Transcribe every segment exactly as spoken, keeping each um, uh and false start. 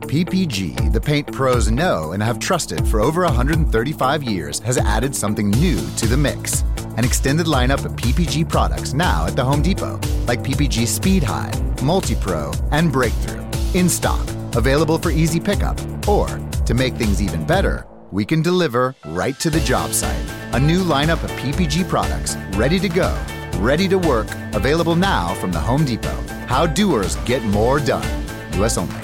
P P G, the paint pros know and have trusted for over one hundred thirty-five years, has added something new to the mix. An extended lineup of P P G products now at the Home Depot, like P P G Speed High, Multi-Pro, and Breakthrough. In stock, available for easy pickup, or, to make things even better, we can deliver right to the job site. A new lineup of P P G products, ready to go, ready to work, available now from the Home Depot. How doers get more done. U S only.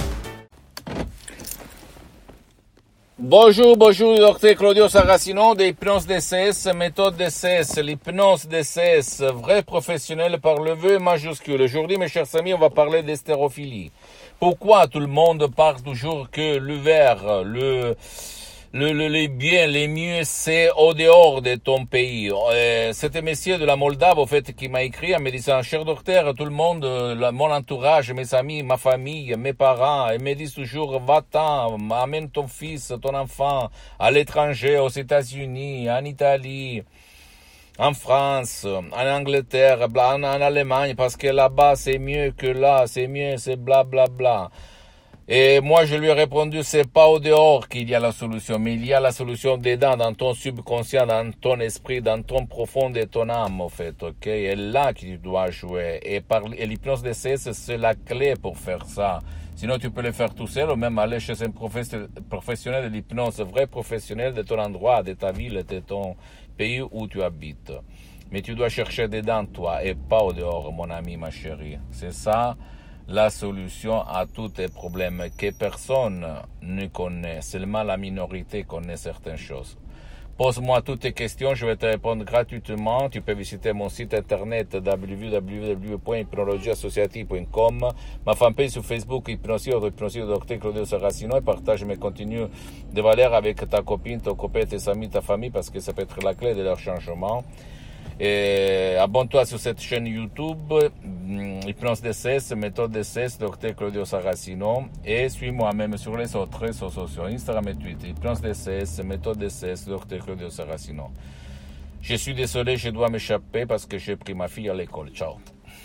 Bonjour, bonjour, docteur Claudio Saracino de Hypnose D C S, méthode D C S, l'hypnose D C S, vrai professionnel par le vœu majuscule. Aujourd'hui, mes chers amis, on va parler d'hystérophilie. Pourquoi tout le monde parle toujours que le verre, le, le, le, les biens, les mieux, c'est au dehors de ton pays. Euh, c'était monsieur de la Moldave, au fait, qui m'a écrit en me disant, cher docteur, tout le monde, la, mon entourage, mes amis, ma famille, mes parents, ils me disent toujours, va-t'en, amène ton fils, ton enfant, à l'étranger, aux États-Unis, en Italie, en France, en Angleterre, en, en Allemagne, parce que là-bas, c'est mieux que là, c'est mieux, c'est bla bla bla. Et moi, je lui ai répondu, c'est pas au dehors qu'il y a la solution, mais il y a la solution dedans, dans ton subconscient, dans ton esprit, dans ton profond de ton âme, en fait, ok? Et là que tu dois jouer. Et, par, et l'hypnose D C S, c'est la clé pour faire ça. Sinon, tu peux le faire tout seul, ou même aller chez un professionnel de l'hypnose, vrai professionnel de ton endroit, de ta ville, de ton pays où tu habites. Mais tu dois chercher dedans, toi, et pas au dehors, mon ami, ma chérie. C'est ça la solution à tous tes problèmes que personne ne connaît, seulement la minorité connaît certaines choses. Pose-moi toutes tes questions, je vais te répondre gratuitement. Tu peux visiter mon site internet w w w point hypnologie associative point com, ma fanpage sur Facebook Hypnosie ou Hypnosie de docteur Claudio Saracino, et partage mes contenus de valeur avec ta copine, ton copain, tes amis, ta famille, parce que ça peut être la clé de leur changement. Et abonne-toi sur cette chaîne YouTube, Hypnose D C S, méthode D C S, docteur Claudio Saracino, et suis-moi même sur les autres réseaux sociaux, Instagram et Twitter, Hypnose D C S, méthode D C S, docteur Claudio Saracino. Je suis désolé, je dois m'échapper parce que j'ai pris ma fille à l'école. Ciao.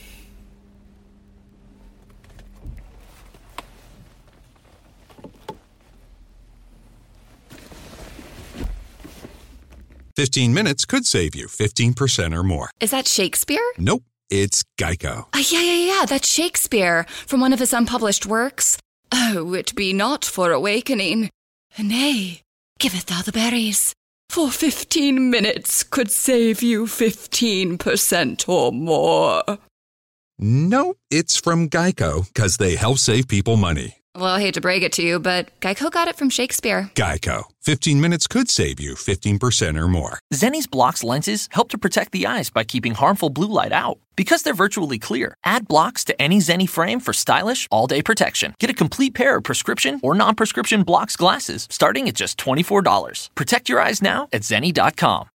fifteen minutes could save you fifteen percent or more. Is that Shakespeare? Nope, it's Geico. Uh, yeah, yeah, yeah, that's Shakespeare from one of his unpublished works. Oh, it be not for awakening. Nay, giveth thou the berries. For fifteen minutes could save you fifteen percent or more. No, it's from Geico, because they help save people money. Well, I hate to break it to you, but Geico got it from Shakespeare. Geico. fifteen minutes could save you fifteen percent or more. Zenni's Blocks lenses help to protect the eyes by keeping harmful blue light out. Because they're virtually clear, add blocks to any Zenni frame for stylish, all-day protection. Get a complete pair of prescription or non-prescription Blocks glasses starting at just twenty-four dollars. Protect your eyes now at zenni dot com.